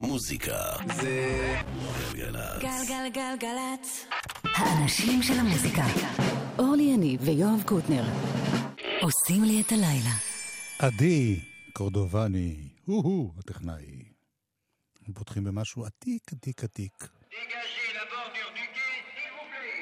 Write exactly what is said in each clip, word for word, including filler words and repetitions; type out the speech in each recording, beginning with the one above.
מוזיקה זה גלגלצ. גלגלגלגלצ. האנשים של המוזיקה. אורלי יניב ויואב קוטנר עושים לי את הלילה. עדי קורדובני, הוא-הוא, הטכנאי. הם פותחים במשהו עתיק, עתיק, עתיק. Dégagez la bordure du quai, s'il vous plaît.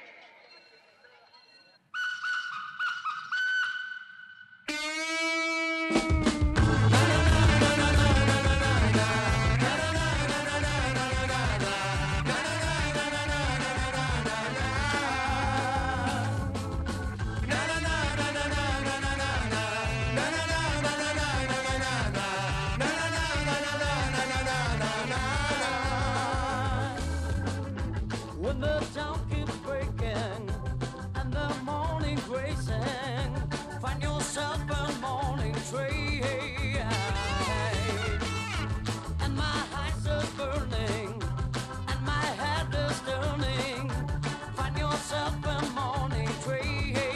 When the town keeps breaking and the morning racing, find yourself a morning train, and my eyes are burning and my head is turning. Find yourself a morning train.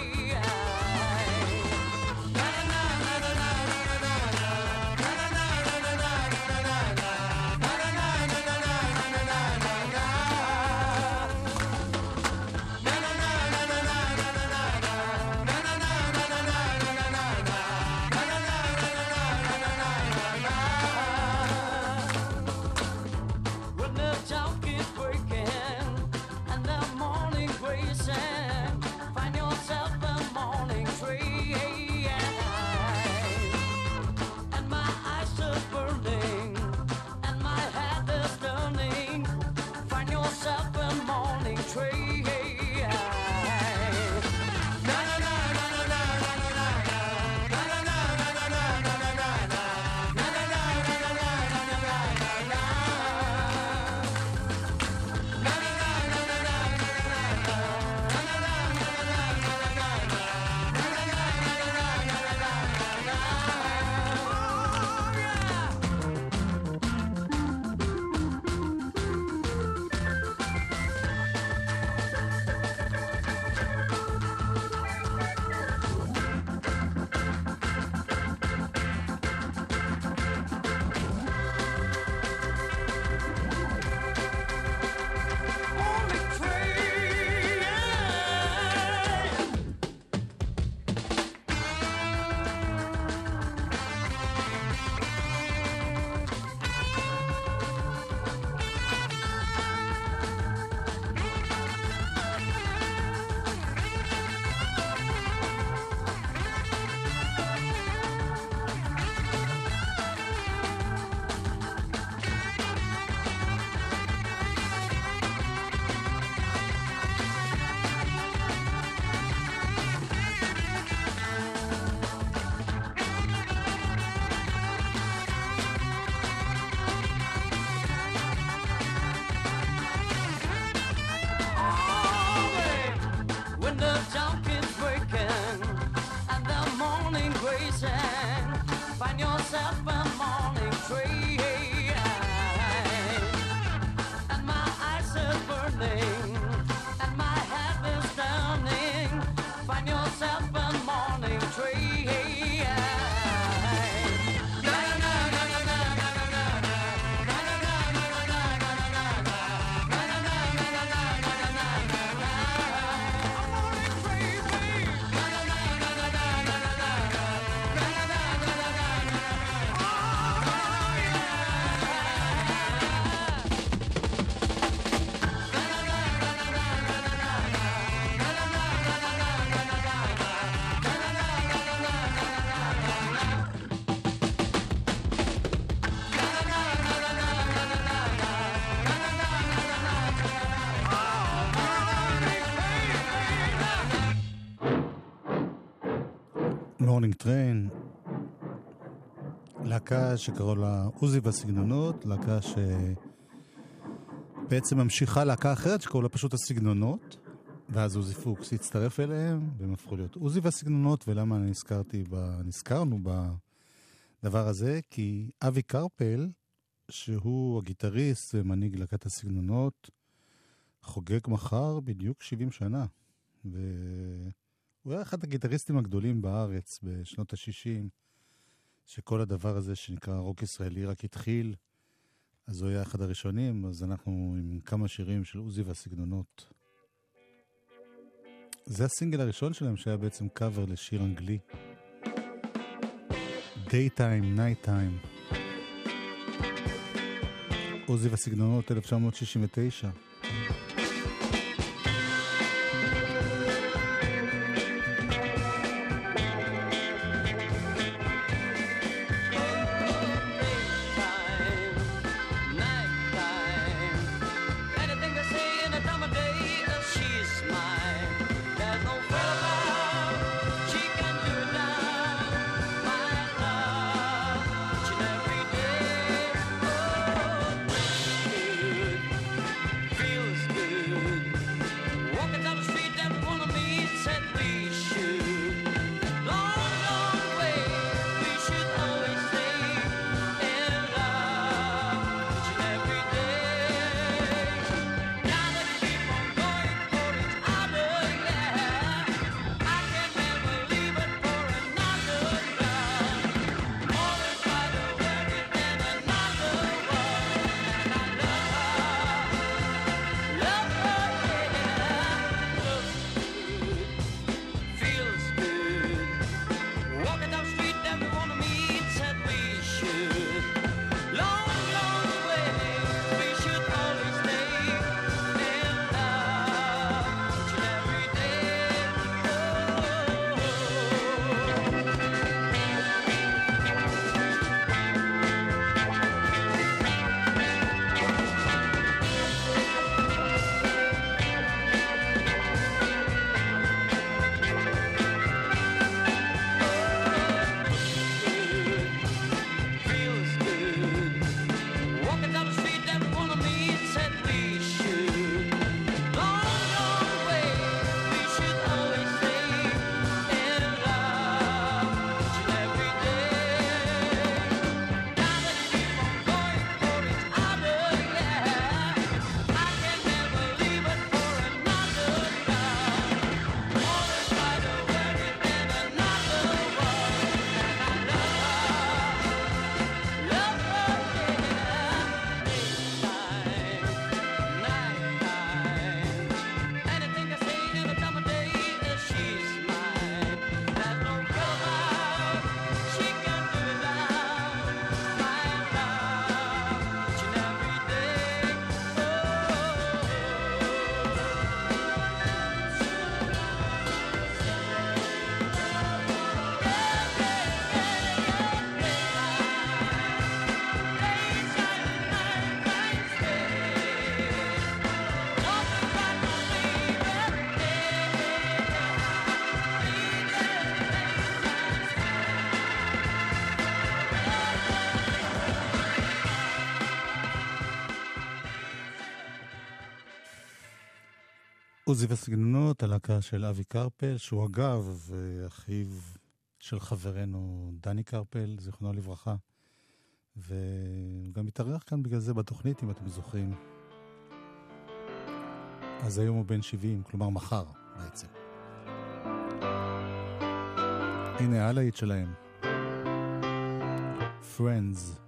When the town keeps breaking and the morning racing, find yourself a morning train, and my eyes are burning and my head is turning. Find yourself a morning train. Morning train. When the town keeps breaking and the morning racing, find yourself a morning train, and my eyes are burning and my head is turning. Find yourself a morning train. מורנינג טריין, להקה שקראו לה עוזי והסגנונות, להקה שבעצם ממשיכה להקה אחרת שקראו לה פשוט הסגנונות, ואז עוזי פוקס הצטרף אליהם והם הפכו להיות עוזי והסגנונות. ולמה אני נזכרתי ב... נזכרנו בדבר הזה? כי אבי קרפל, שהוא הגיטריסט ומנהיג להקת הסגנונות, חוגג מחר בדיוק שבעים שנה, והוא היה אחד הגיטריסטים הגדולים בארץ בשנות ה-שישים, שכל הדבר הזה שנקרא רוק ישראלי רק התחיל. אז הוא היה אחד הראשונים, אז אנחנו עם כמה שירים של עוזי והסגנונות. זה הסינגל הראשון שלהם שהיה בעצם קאבר לשיר אנגלי. Daytime, Nighttime. עוזי והסגנונות אלף תשע מאות שישים ותשע. עוזי והסגנונות, הלהקה של אבי קרפל, שהוא אגב אחיו של חברנו דני קרפל, זיכרונו לברכה, וגם מתארח כאן בגלל זה בתוכנית, אם אתם זוכרים. אז היום הוא בן שבעים, כלומר מחר בעצם. הנה הלהיט שלהם. Friends.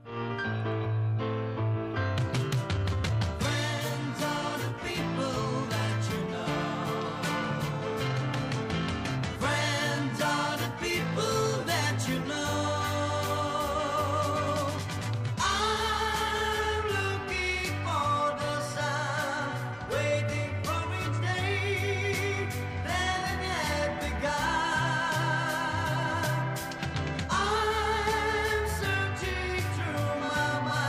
I'm searching through my mind.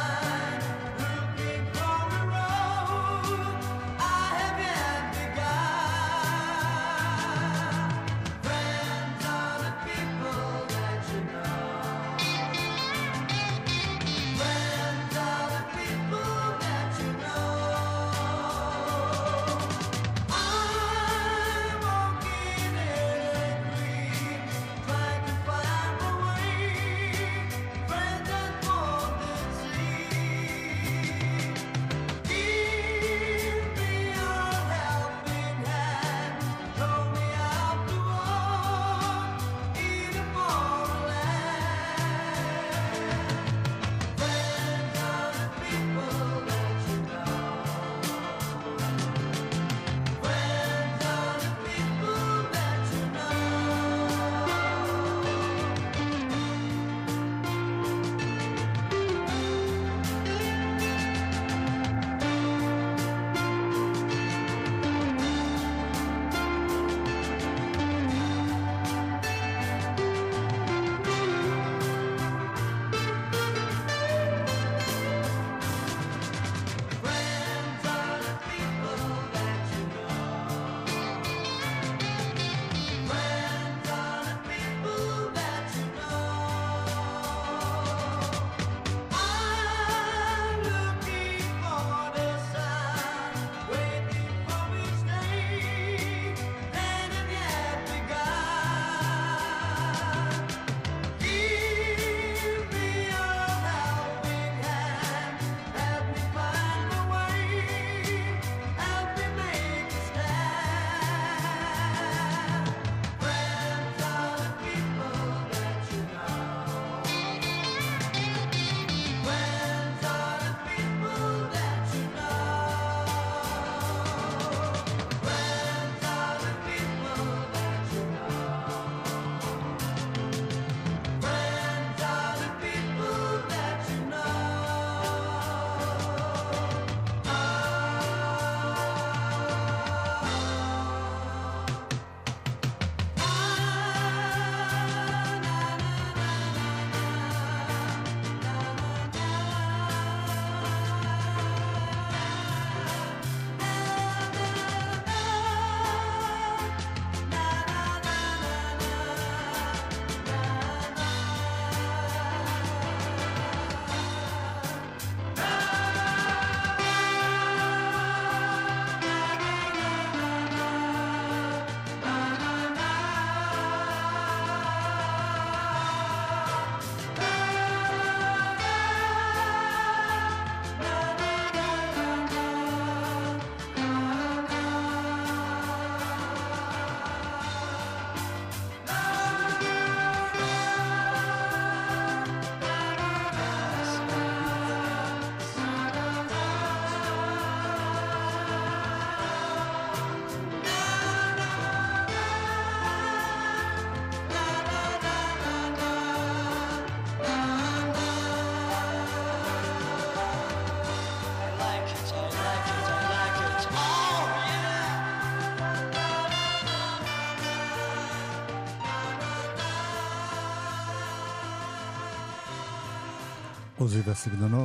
עוזי והסגנונות,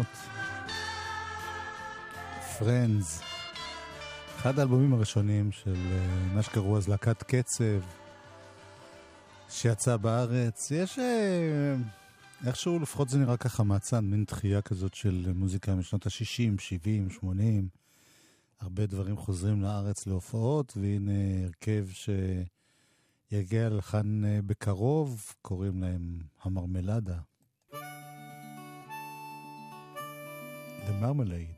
Friends, אחד האלבומים הראשונים של uh, מה שקראו אז להקת קצב שיצא בארץ. יש uh, איכשהו לפחות זה נראה ככה מעצן, מין תחייה כזאת של מוזיקה משנות ה-שישים, שבעים, שמונים, הרבה דברים חוזרים לארץ להופעות, והנה הרכב שיגיע לכאן uh, בקרוב, קוראים להם המרמלדה, The Marmalade.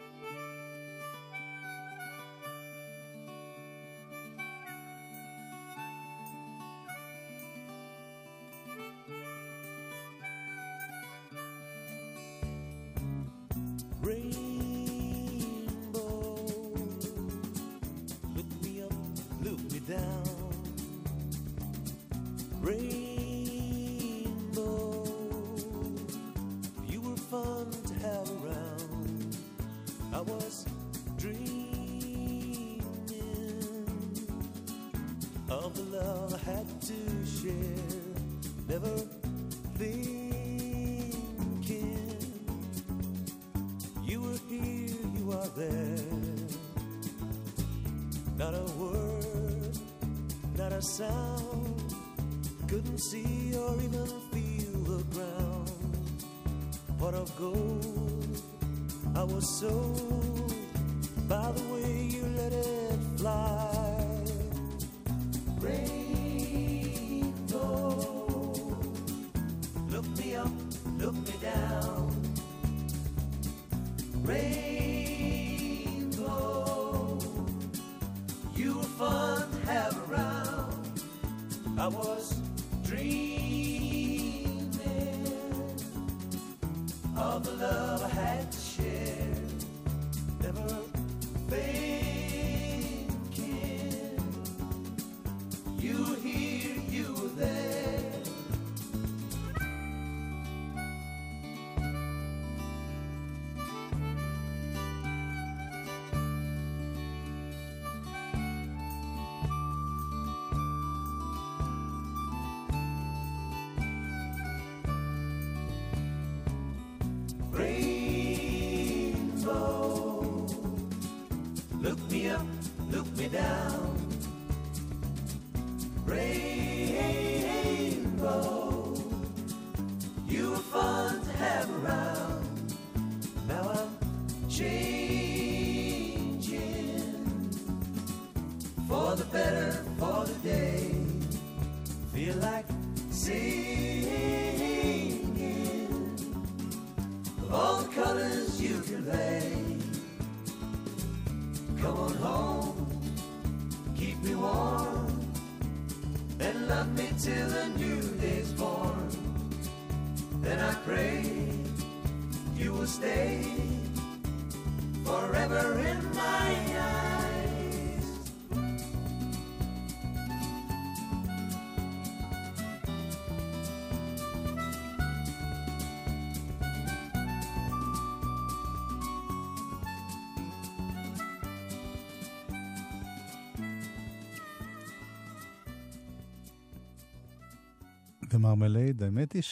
ומרמלייד, האמת היא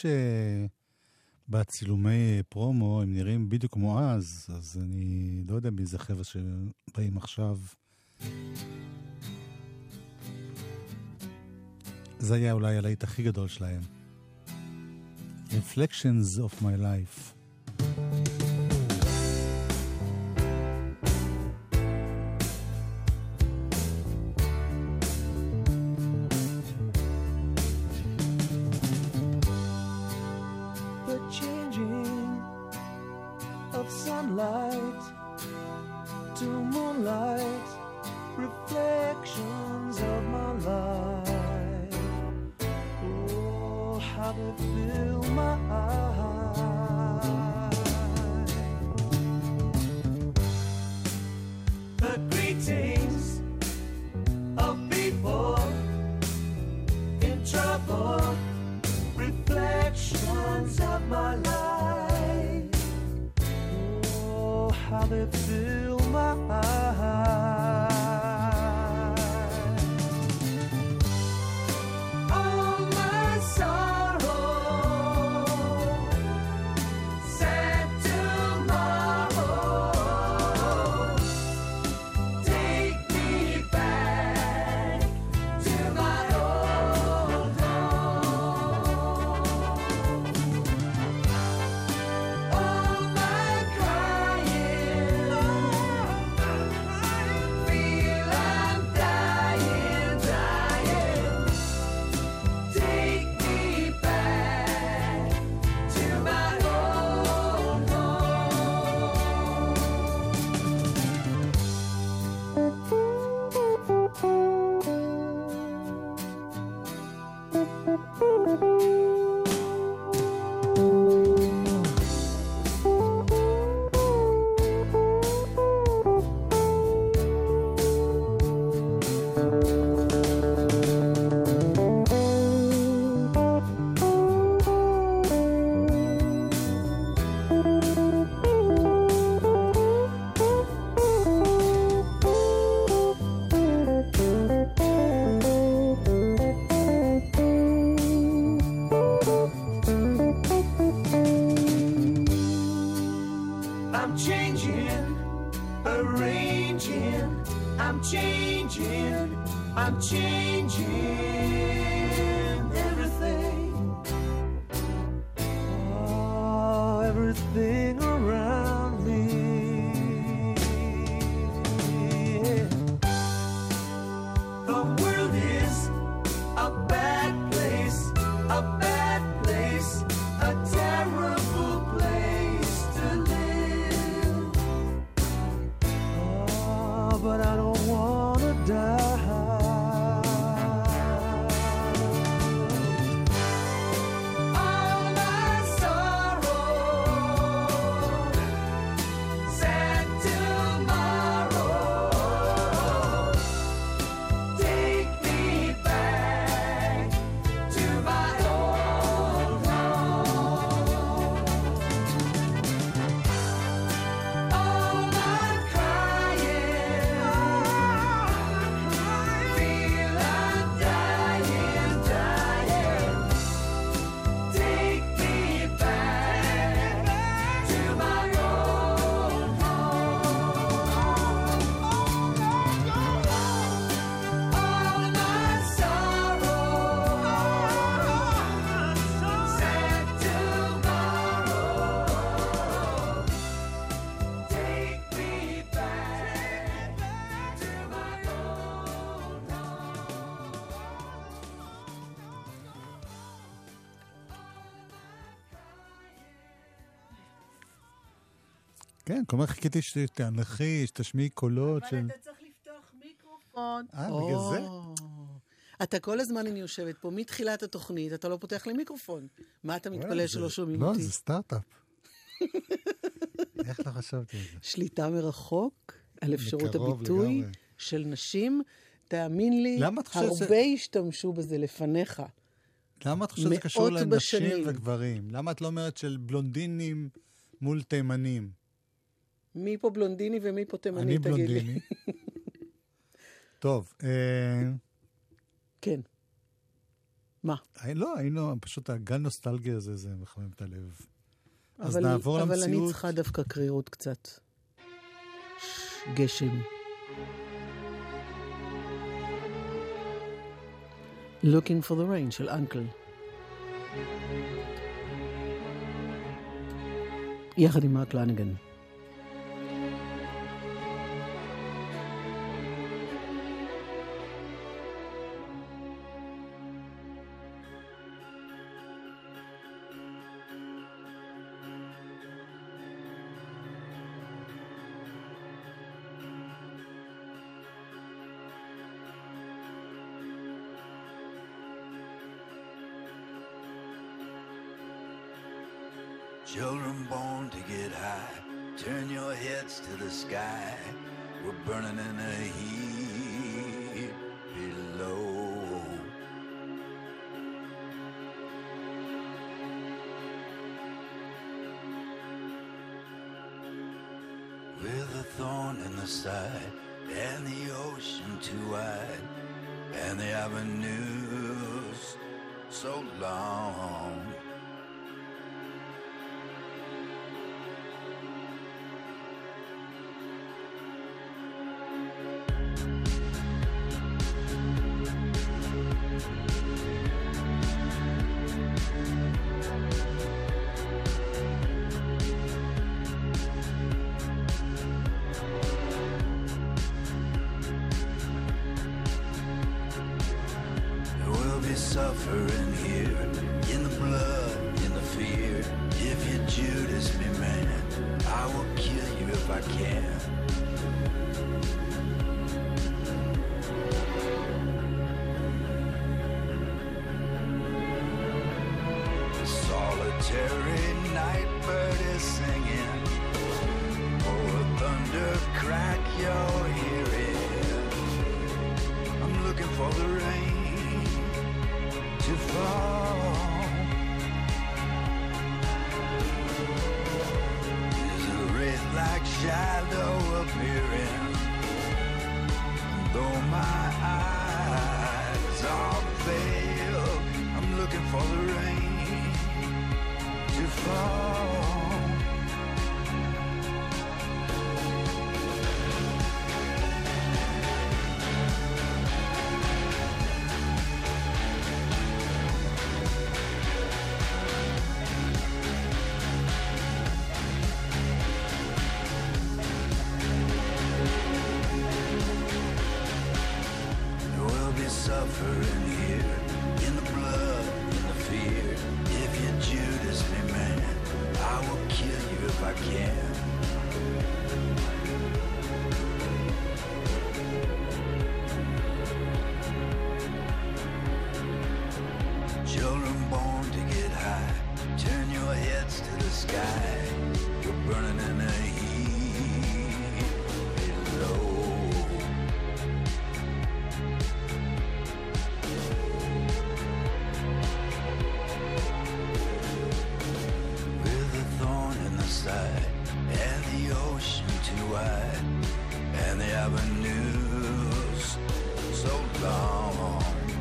שבצילומי פרומו הם נראים בדיוק כמו אז, אז אני לא יודע מי זה חבר'ה שבאים עכשיו. זה היה אולי הלהיט הכי גדול שלהם. Reflections of my life. Say I'm changing, arranging, I'm changing, I'm changing everything. Oh, everything around me. The world is a bad place, a bad place, a terrible place to live. Oh, but I don't want to die. All my sorrow, sad tomorrow, take me back to my old home. All my crying, feel I'm dying, dying. Take me back to my old home. All my sorrow, sad tomorrow, take me back to my old כן, כל הזמן חיכיתי שתענחי, שתשמיעי קולות של... צריך לפתוח מיקרופון. אה, בגלל זה? אתה כל הזמן אני יושבת פה, מתחילת התוכנית, אתה לא פותח לי מיקרופון. מה אתה מתפלל שלא שומעים לא, אותי? זה סטארט-אפ. איך לא חשבתי על זה? שליטה מרחוק על אפשרות מקרוב הביטוי לגמרי. של נשים, תאמין לי, למה את חושבת הרבה השתמשו בזה לפניך. למה את חושבת שזה מאות קשור לנשים בשנים. וגברים? למה את לא אומרת של בלונדינים מול תימנים? מי פה בלונדיני ומי פה תימני, אני תגיד לי. בלונדיני. טוב, אה, כן. מה? אה, לא, היינו, פשוט הגל נוסטלגיה הזה, זה מחמם את הלב. אז אבל- נעבור אבל אני למציאות. צריכה דווקא קרירות קצת. גשם. Looking for the rain של אנקל. יחד עם מרק לניגן. Children born to get high, turn your heads to the sky. We're burning in a heat below. With a thorn in the side, and the ocean too wide, and the avenues so long. Suffering here, in the blood, in the fear. If you Judas me, man, I will kill you if I can. Solitary night bird is singing. Oh, thunder crack you're hearing. I'm looking for the rain to fall. There's a wraith-like shadow appearing. Though my eyes are veiled, I'm looking for the rain to fall. suffering here, in the blood, in the fear. If you Judas me, man, I will kill you if I can. Children born to get high, turn your heads to the sky. You're burning in the heat below. With a thorn in the side, and the ocean too wide, and the avenues so long.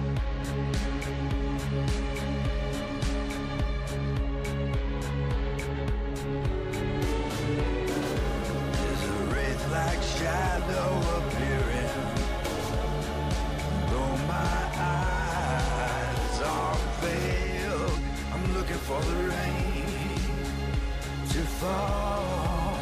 Like shadow appearing, though my eyes are veiled, I'm looking for the rain to fall.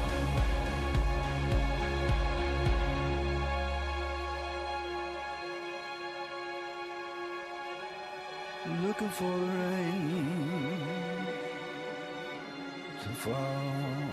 I'm looking for the rain to fall.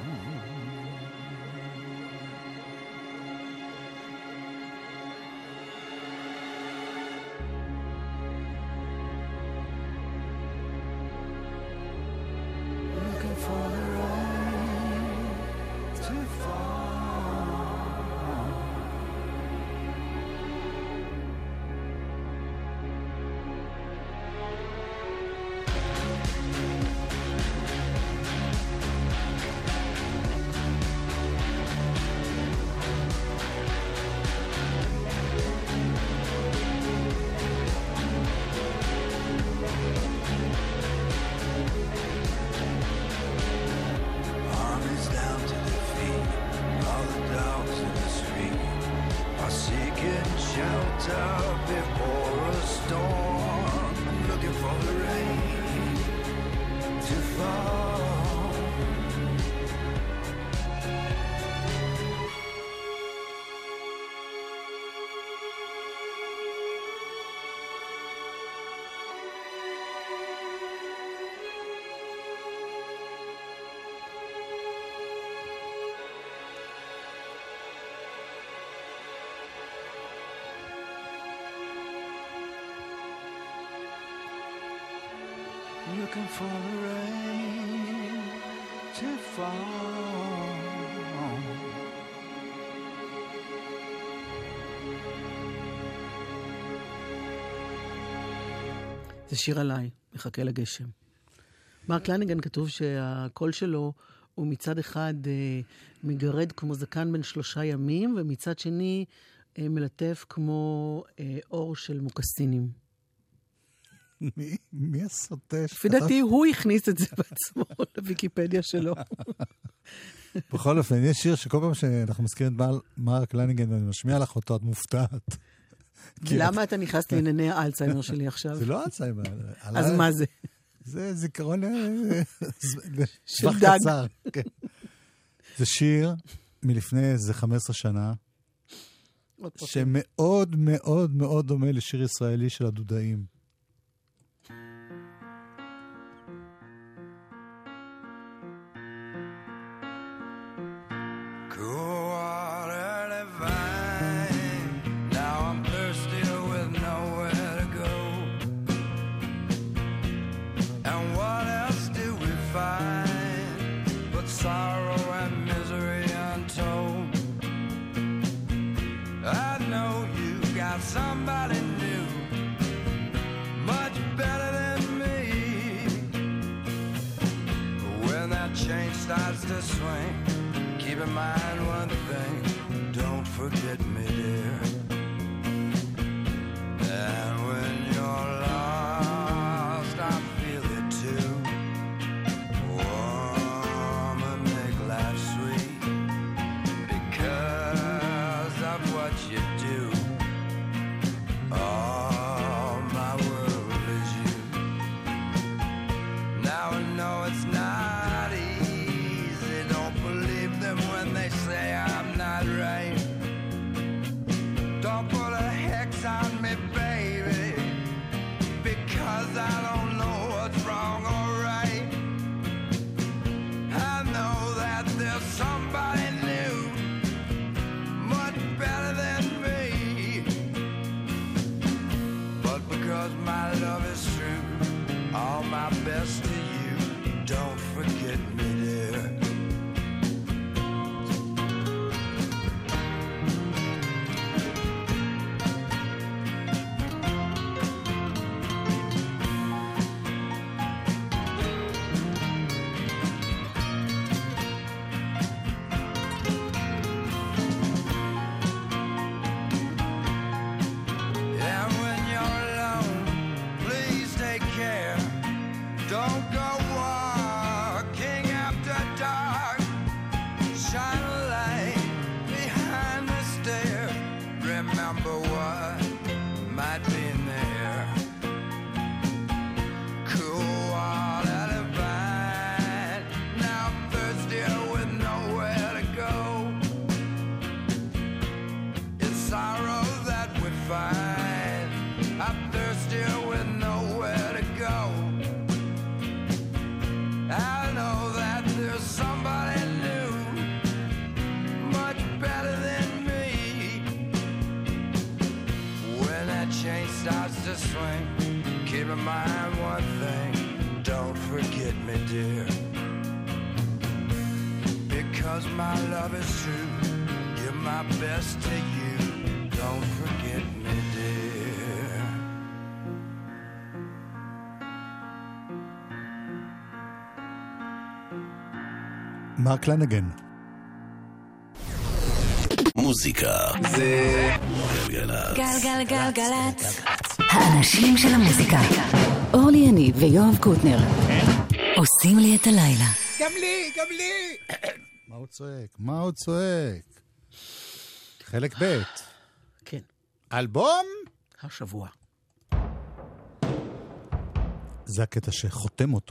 Looking for the rain to fall. זה שיר עליי, מחכה לגשם. מרק לניגן כתוב שהקול שלו הוא מצד אחד אה, מגרד כמו זקן בין שלושה ימים, ומצד שני אה, מלטף כמו אה, אור של מוקסינים. מי, מי הסוטה? לפי דעתי הוא הכניס את זה בעצמו לוויקיפדיה שלו. בכל אופן, יש שיר שכל פעם שאנחנו מזכירים את מרק לניגן ואני משמיע לך אותו, את מופתעת. למה אתה נכנס לענייני האלצהיימר שלי עכשיו? זה לא אלצהיימר. אז מה זה? זה זיכרון של דג. זה שיר מלפני איזה חמש עשרה שנה, שמאוד מאוד מאוד דומה לשיר ישראלי של הדודאים. Somebody new, much better than me. When that chain starts to swing, keep in mind one thing, don't forget me, dear. And when you're lost, I feel it too. Warm and make life sweet because of what you do. All my world is you. Now I know it's not easy. Don't believe them when they say I'm not right. Don't shine a light behind the stairs. Remember what might be in there. Cool water divine. Now I'm thirsty with nowhere to go. It's sorrow that we find. I'm thirsty with nowhere to go. I know that there's somebody new, much better than me. When that chain starts to swing, keep in mind one thing, don't forget me, dear. Because my love is true, give my best to you, don't forget me, dear. מרק לנגן. מוזיקה זה גלגלצ. גלגלגלגלצ. האנשים של המוזיקה. אורלי יניב ויואב קוטנר. עושים לי את הלילה. גם לי, גם לי. מה הוא צועק? מה הוא צועק? חלק ב'. כן. אלבום? השבוע. זה הקטע שחותם אותו.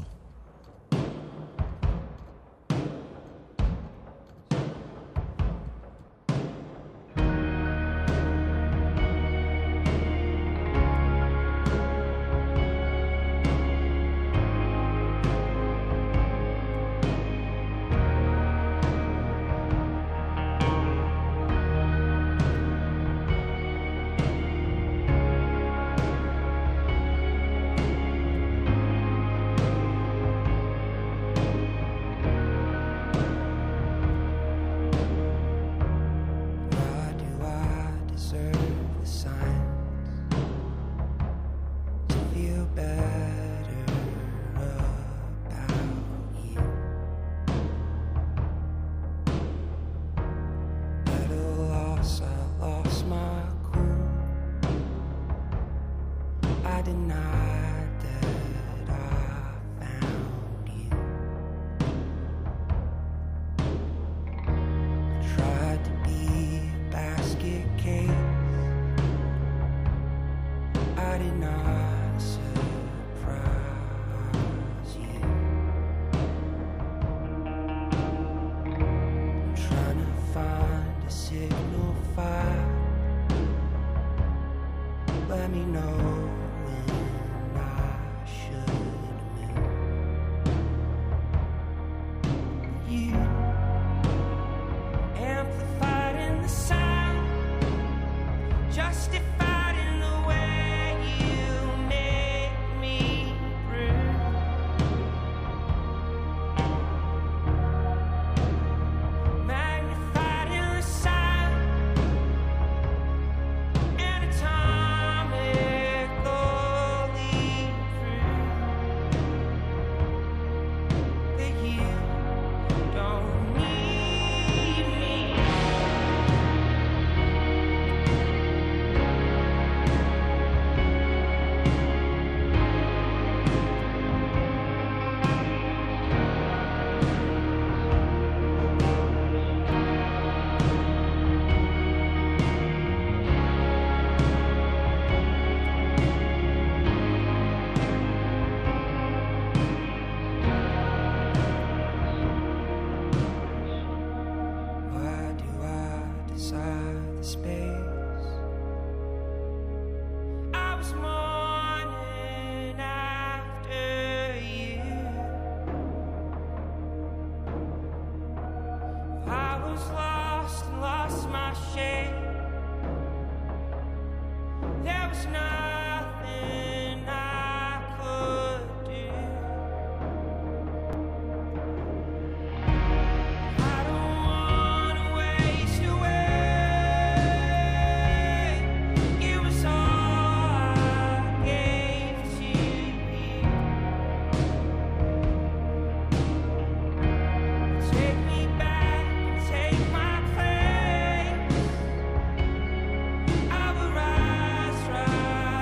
I will rise, rise.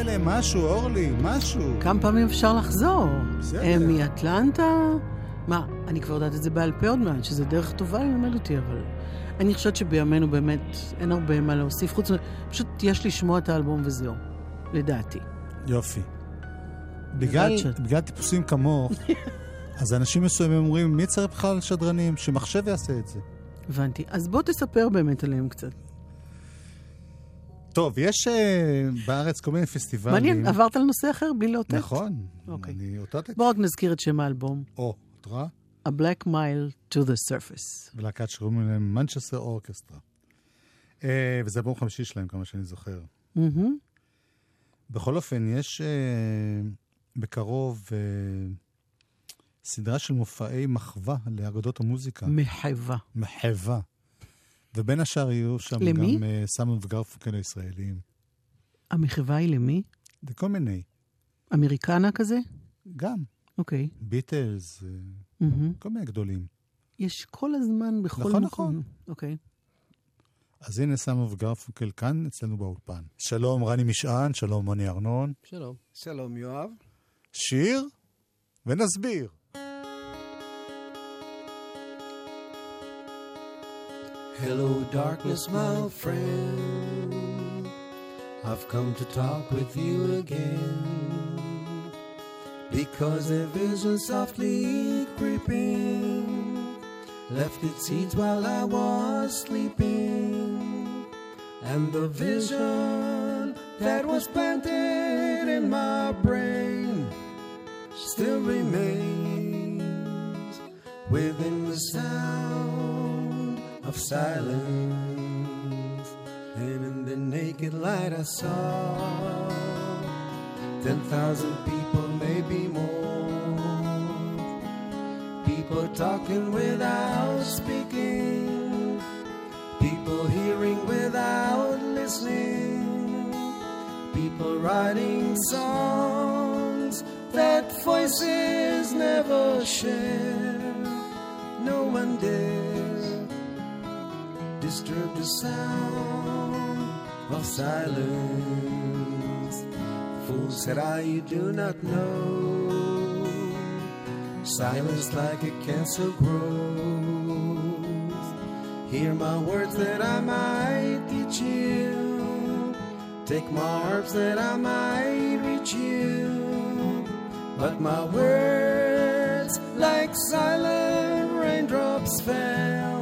כאלה, משהו, אורלי, משהו. כמה פעמים אפשר לחזור? בסדר. הם מאטלנטה? מה, אני כבר יודעת את זה בעל פה עוד מעט, שזה דרך טובה ללמד אותי, אבל אני חושבת שבימינו באמת אין הרבה מה להוסיף, חוץ מ... פשוט יש לשמוע את האלבום וזהו, לדעתי. יופי. בגלל, שאת- בגלל טיפוסים כמוך, אז אנשים מסוימים אומרים, מי צריך בכלל שדרנים? שמחשב יעשה את זה. הבנתי. אז בוא תספר באמת עליהם קצת. טוב, יש uh, בארץ כל מיני פסטיבלים. מעניין, עברת על נושא אחר בלי לאותת? נכון. אוקיי. אני אותתתי. בוא רק נזכיר את שם האלבום. או, את רואה? A Black Mile to the Surface. ולהקת שקוראים להם מנצ'סטר אורקסטרה. Uh, וזה אלבום חמישי שלהם, כמה שאני זוכר. מהמם. בכל אופן, יש uh, בקרוב uh, סדרה של מופעי מחווה לאגדות המוזיקה. מחווה. מחווה. ובין השאר יהיו שם למי? גם uh, סמון וגרפונקל הישראלים. המחווה היא למי? זה כל מיני. אמריקנה כזה? גם. אוקיי. ביטלס, uh, מהמם. כל מיני גדולים. יש כל הזמן בכל נכון, מקום. נכון. אוקיי. אז הנה סמון וגרפונקל כאן אצלנו באולפן. שלום רני משען, שלום מוני ארנון. שלום. שלום יואב. שיר ונסביר. Hello, darkness, my friend. I've come to talk with you again. Because a vision softly creeping left its seeds while I was sleeping. And the vision that was planted in my brain still remains within the sound of silence. And in the naked light I saw ten thousand people, maybe more. People talking without speaking, people hearing without listening, people writing songs that voices never share. No one dare disturb the sound of silence. Fool said I, you do not know. Silence like a cancer grows. Hear my words that I might teach you. Take my arms that I might reach you. But my words like silent raindrops fell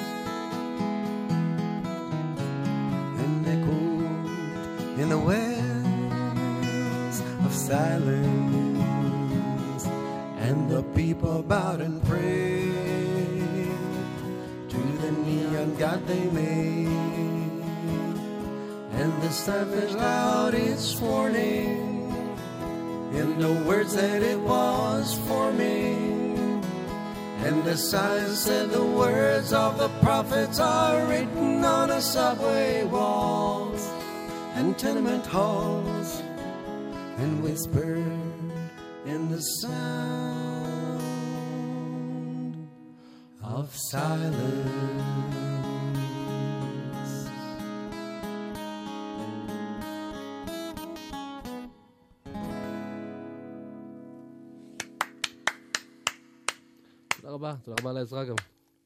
and echoed in the wells of silence. And the people bowed and prayed to the neon god they made. And the sun flashed out its warning in the words that it was forming. And the sign said the words of the prophets are written on the subway walls and tenement halls, and whispered in the sound of silence. תודה רבה, תודה רבה על העזרה גם.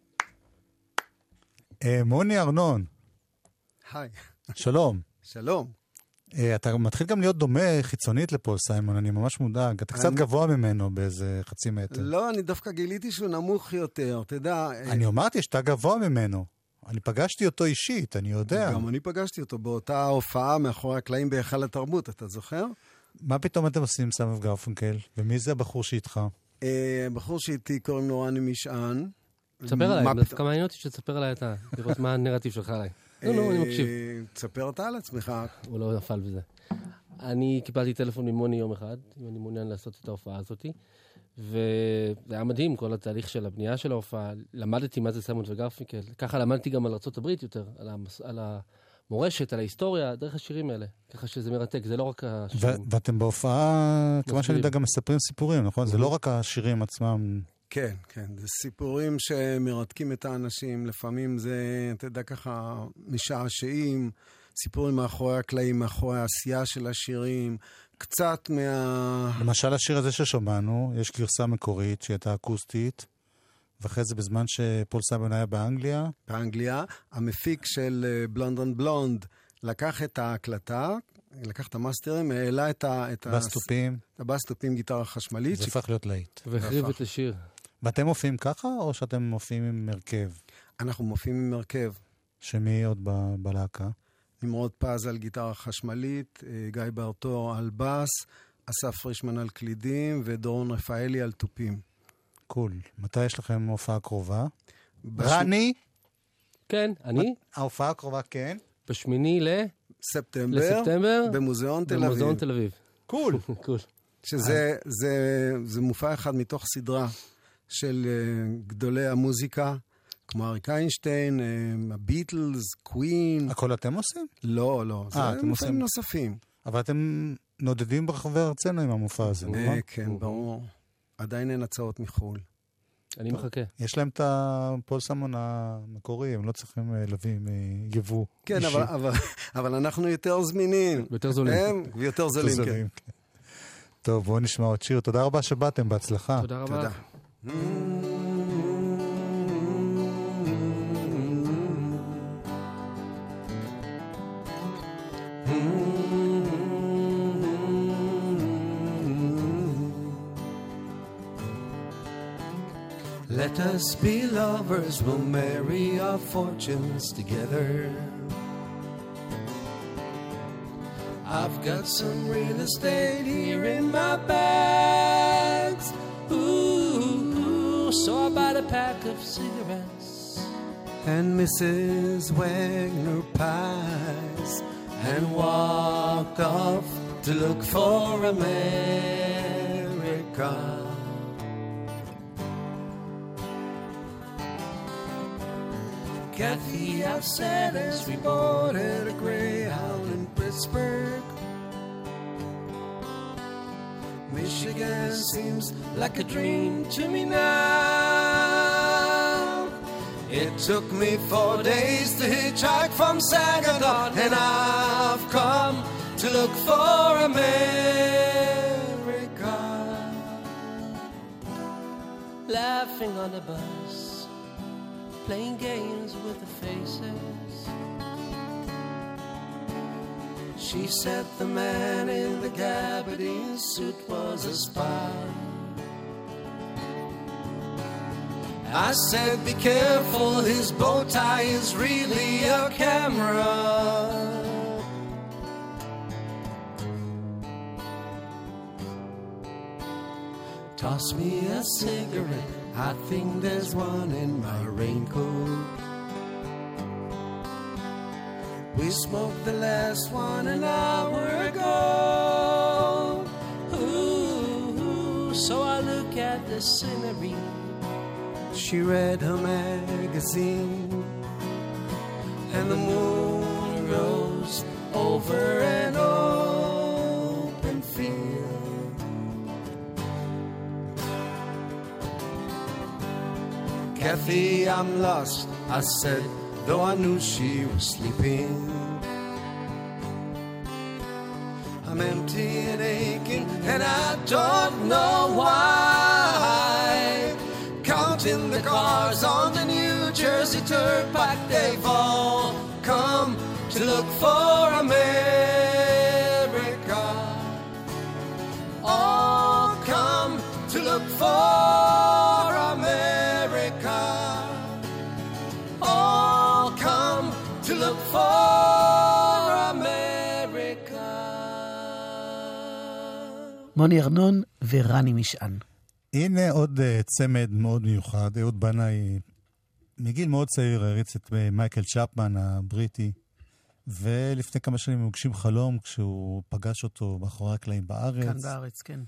אה, מוני ארנון, היי. שלום. שלום. אה, אתה מתחיל גם להיות דומה חיצונית לפול סיימון, אני ממש מודאג. אתה קצת אני- גבוה ממנו באיזה חצי מטר. לא, אני דווקא גיליתי שהוא נמוך יותר, תדע. אני אמרתי שאתה גבוה ממנו. אני פגשתי אותו אישית, אני יודע. גם אני פגשתי אותו באותה הופעה מאחורי הקלעים בהיכל התרבות, אתה זוכר? מה פתאום אתם עושים עם סמון וגרפונקל? ומי זה הבחור שאיתך? אה, בחור שאיתי קוראים לו רני משען. תספר עליי, מה דווקא פתאום? מעניין אותי שתספר עליי אתה, לראות מה הנרטיב שלך עליי. לא, לא, אני מקשיב. אה, תספר אתה על עצמך. הוא לא נפל בזה. אני קיבלתי טלפון ממוני יום אחד, אם אני מעוניין לעשות את ההופעה הזאת, וזה היה מדהים, כל התהליך של הבנייה של ההופעה. למדתי מה זה סיימון וגרפונקל. ככה למדתי גם על ארצות הברית יותר, על, המס... על המורשת, על ההיסטוריה, דרך השירים האלה. ככה שזה מרתק, זה לא רק השירים. ו- ואתם בהופעה, כמה שאני יודע, מסבירים. גם מספרים סיפורים, נכון? זה לא רק השירים עצמם. כן, כן, זה סיפורים שמרתקים את האנשים, לפעמים זה, אתה יודע, ככה משעשעים, סיפורים מאחורי הקלעים, מאחורי העשייה של השירים, קצת מה... למשל השיר הזה ששמענו, יש גרסה מקורית שהייתה אקוסטית, ואחרי זה בזמן שפול סיימון היה באנגליה. באנגליה, המפיק של בלונד און בלונד לקח את ההקלטה, לקח את המאסטרים, העלה את ה... בסטופים. את הבסטופים, גיטרה חשמלית. זה הפך להיות להיט. והחריב את השיר. ואתם מופיעים ככה, או שאתם מופיעים עם מרכב? אנחנו מופיעים עם מרכב. שמי עוד ב- בלהקה? נמרוד פז על גיטרה חשמלית, גיא ברטור על בס, אסף פרישמן על קלידים, ודורון רפאלי על טופים. קול. מתי יש לכם הופעה קרובה? בש... רני? כן, אני? ההופעה הקרובה, כן. בשמיני ל... ספטמבר, לספטמבר, במוזיאון תל אביב. במוזיאון תל אביב. קול. קול. שזה זה, זה מופע אחד מתוך סדרה של uh, גדולי המוזיקה, כמו אריק איינשטיין, uh, הביטלס, קווין. הכל אתם עושים? לא, לא. 아, זה אתם מופעים עושים... נוספים. אבל אתם נודדים ברחבי ארצנו עם המופע הזה, נכון? כן, ברור. עדיין אין הצעות מחול. אני מחכה. יש להם את הפול סיימון המקורי, הם לא צריכים להביא יבוא. כן, אבל, אבל, אבל אנחנו יותר זמינים. יותר זולים. הם ויותר זולים, כן. טוב, בואו נשמע עוד שיר. תודה רבה שבאתם, בהצלחה. תודה רבה. תודה. Let us be lovers, we'll marry our fortunes together. I've got some real estate here in my bags. Ooh, so I bought a pack of cigarettes and Missus Wagner pies and walked off to look for America. Kathy, I've said as we boarded a Greyhound in Pittsburgh. Michigan seems like a dream to me now. It took me four days to hitchhike from Saginaw, and I've come to look for America. Laughing on the bus, playing games with the faces. She said the man in the gabardine suit was a spy. I said, be careful, his bow tie is really a camera. Toss me a cigarette, I think there's one in my raincoat. We smoked the last one an hour ago. Ooh, so I look at the scenery. She read her magazine, and the moon rose over an open field. Kathy, I'm lost, I said, though I knew she was sleeping. I'm empty and aching, and I don't know why. Counting the cars on the New Jersey Turnpike, they've all come to look for America. All come to look for America. All come to look for America. מוני ארנון ורני משען. הנה עוד uh, צמד מאוד מיוחד. אהוד בנאי מגיל מאוד צעיר הריץ את מייקל צ'פמן הבריטי, ולפני כמה שנים הוגשים חלום כשהוא פגש אותו מאחורי הקלעים בארץ. כאן בארץ, כן.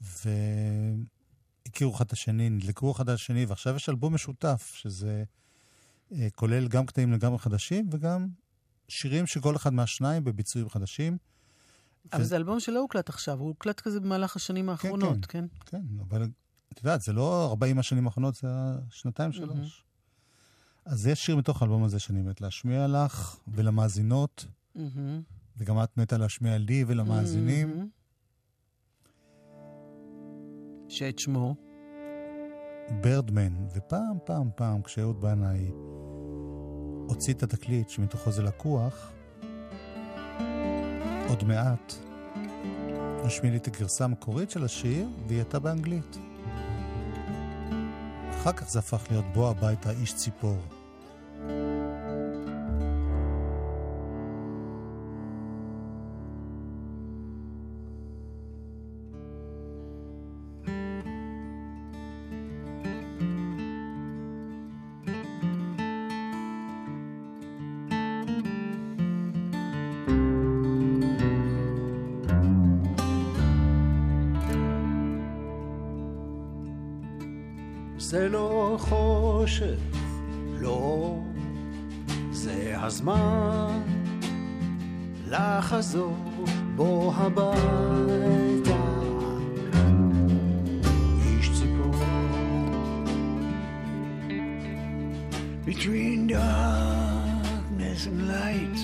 והכירו אחד השני, נדלקו אחד השני, ועכשיו יש אלבום משותף, שזה uh, כולל גם קטעים לגמרי חדשים, וגם שירים שכל אחד מהשניים בביצועים חדשים. אבל ו... זה אלבום שלא הוקלט עכשיו, הוא הוקלט כזה במהלך השנים האחרונות, כן? כן, כן, כן, אבל את יודעת, זה לא ארבעים השנים האחרונות, זה שנתיים שלוש. אז יש שיר מתוך האלבום הזה שאני מת להשמיע לך ולמאזינות, מהמם. וגם את מתה להשמיע לי ולמאזינים. מהמם. שאת שמו. ברדמן, ופעם פעם פעם כשאהוד בנאי הוציא את התקליט שמתוכו זה לקוח, עוד מעט נשמיע לי את הגרסה המקורית של השיר, והיא הייתה באנגלית. אחר כך זה הפך להיות בוא הביתה איש ציפור. זה לא חושך, לא, זה הזמן לחזור בו הביתה, איש ציפור. Between darkness and light,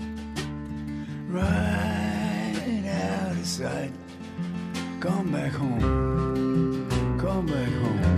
right out of sight. Come back home, come back home.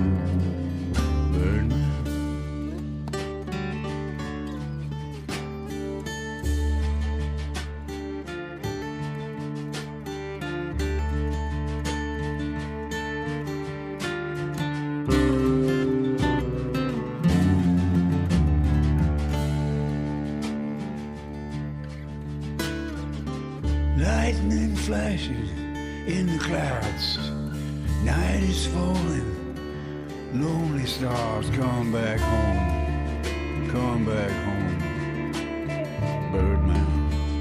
Lightning flashes in the clouds. Night is falling. Lonely stars, come back home. Come back home. Birdman.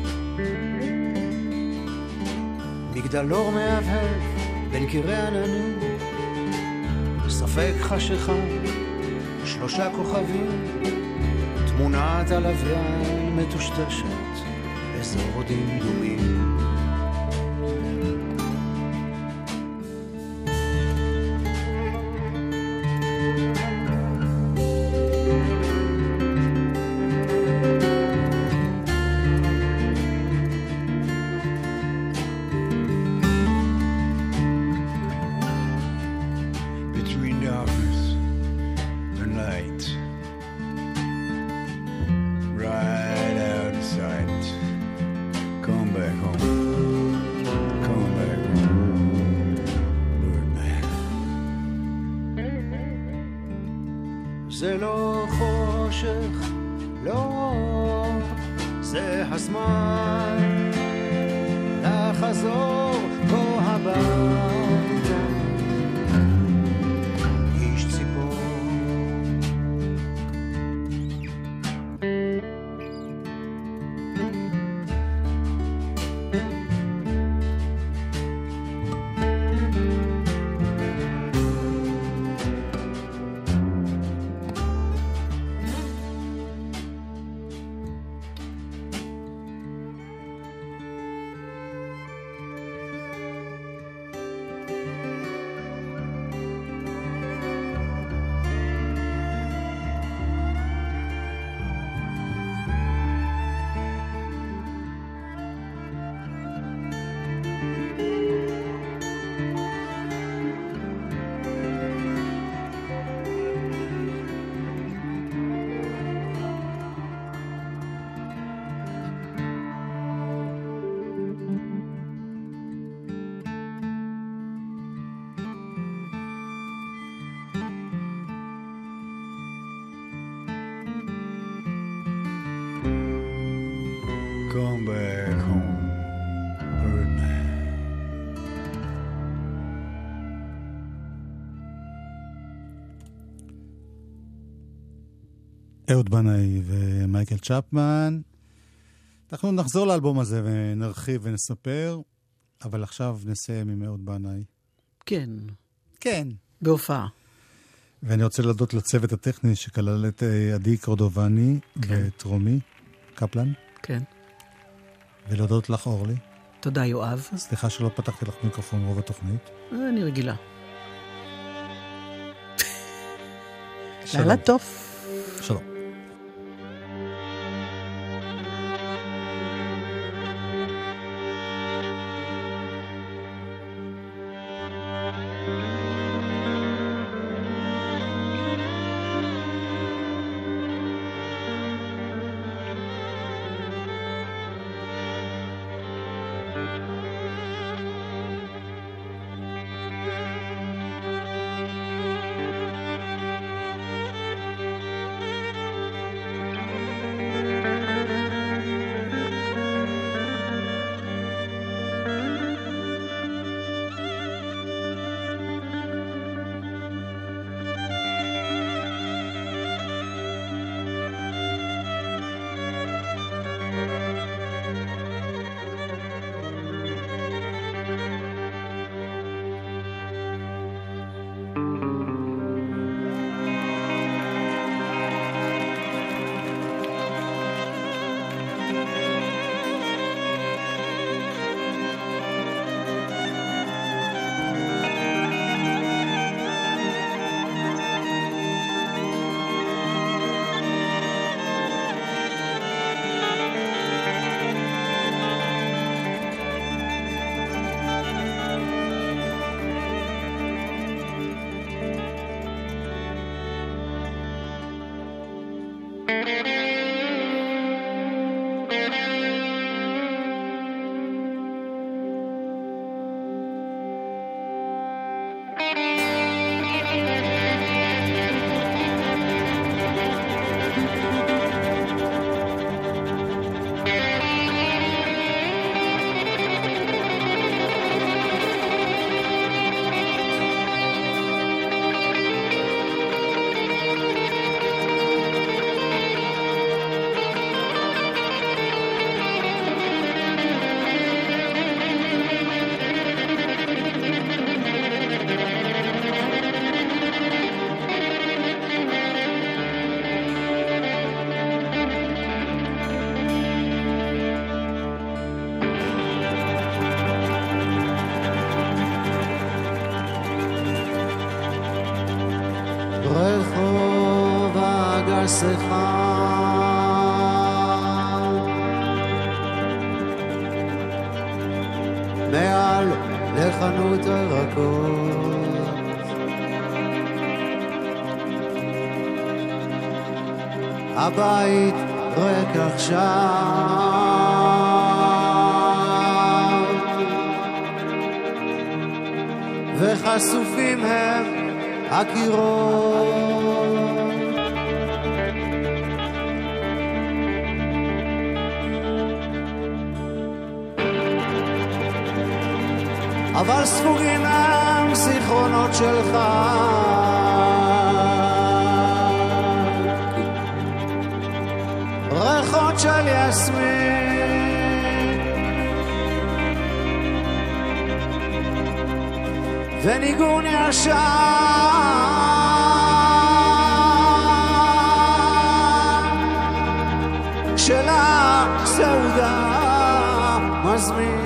מגדלור מהבהב בין קירי עננים, ספק חשיכה, שלושה כוכבים, תמונת הלוויין מטושטשת, אזור דמדומים. Between darkness and light, right out of sight. Come back home, come back home, Birdman. זה לא חושך, לא, זה הזמן לחזור בו הביתה, איש ציפור. Come back home, Birdman. אהוד בנאי ומייקל צ'פמן. אנחנו נחזור לאלבום הזה ונרחיב ונספר, אבל עכשיו נסיים עם אהוד בנאי. כן. כן. בהופעה. ואני רוצה להודות לצוות הטכני שכלל את עדי קורדובני ואת רומי קפלן. כן. ולהודות לך אורלי. תודה יואב. סליחה שלא פתחתי לך מיקרופון רוב התוכנית. אני רגילה. לילה טוב. שלום. רחוב הגסך מעל לחנות הירקות הבית ריק עכשיו וחשופים הם הקירות אבל ספוגים הם זיכרונות שלך ריחות של יסמין וניגון ישר של הסעודה מזמין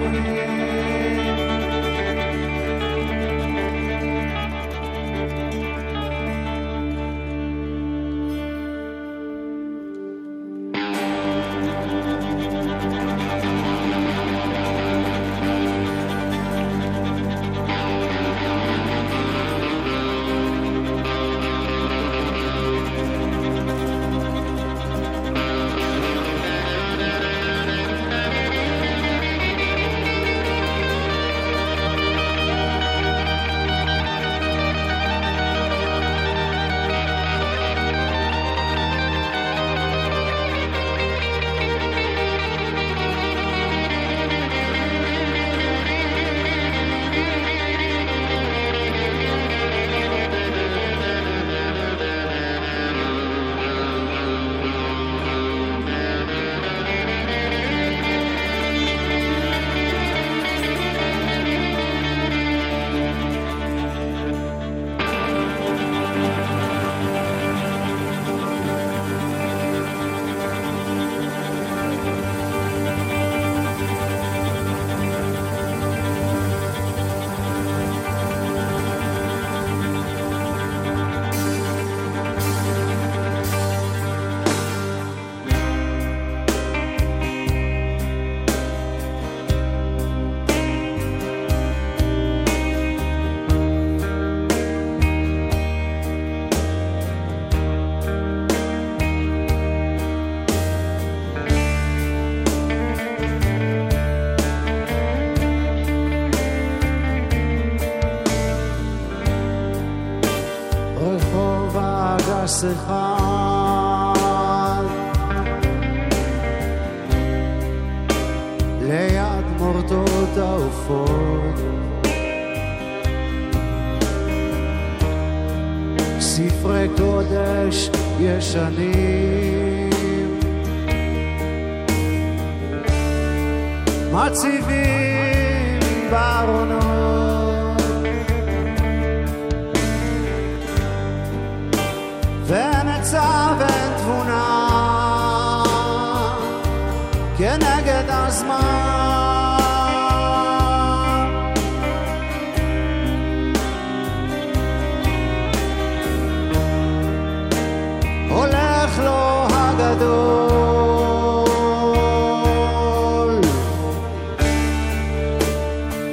אחד ליד מורדות העופות ספרי קודש ישנים מציבים בארונות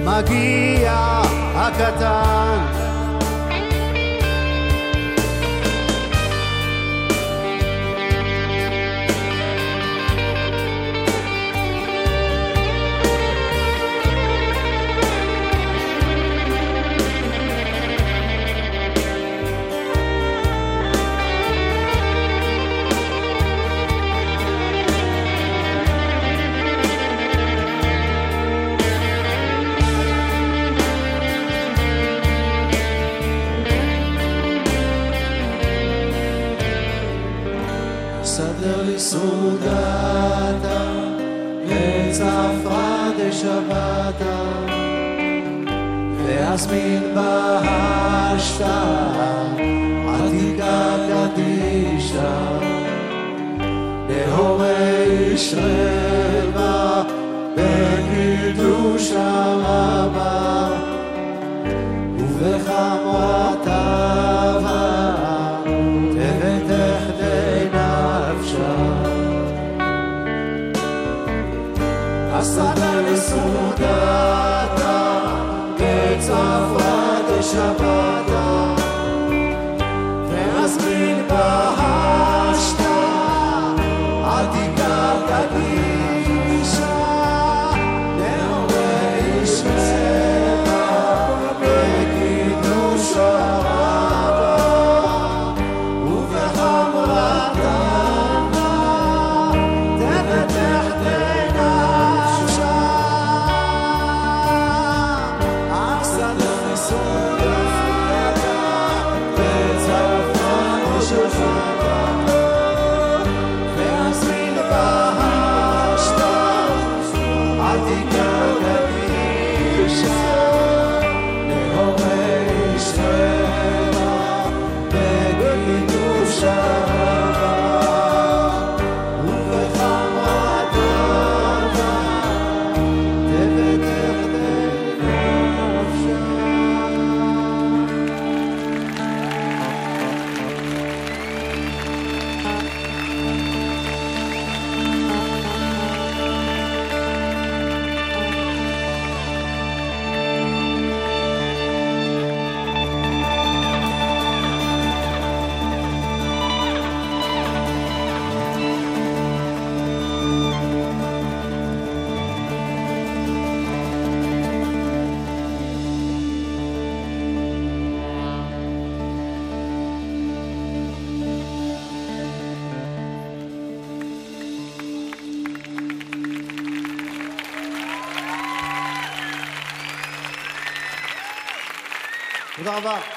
מגיע הקטן. סדר לי סעודתה, עץ עפרה דשבתה, ואזמין בהשתה, עתיקה קדישה, להורי ישרבה, בקידוש הרבה, ובחמרת אהבה, תבטח די נפשה. הסדר לסעודתה, עץ עפרה דשבתה, ואזמין בהשתה, עתיקה קדישה, להורי ישרבה, בקידוש הרבה, ובחמרת אהבה, תבטח די נפשה. אך סדר לסעודתה, עץ עפרה דשבתה, ואזמין בהשתה, עתיקה קדישה, להורי ישרבה, בקידוש הרבה, ובחמרת אהבה, תבטח די נפשה. תודה רבה.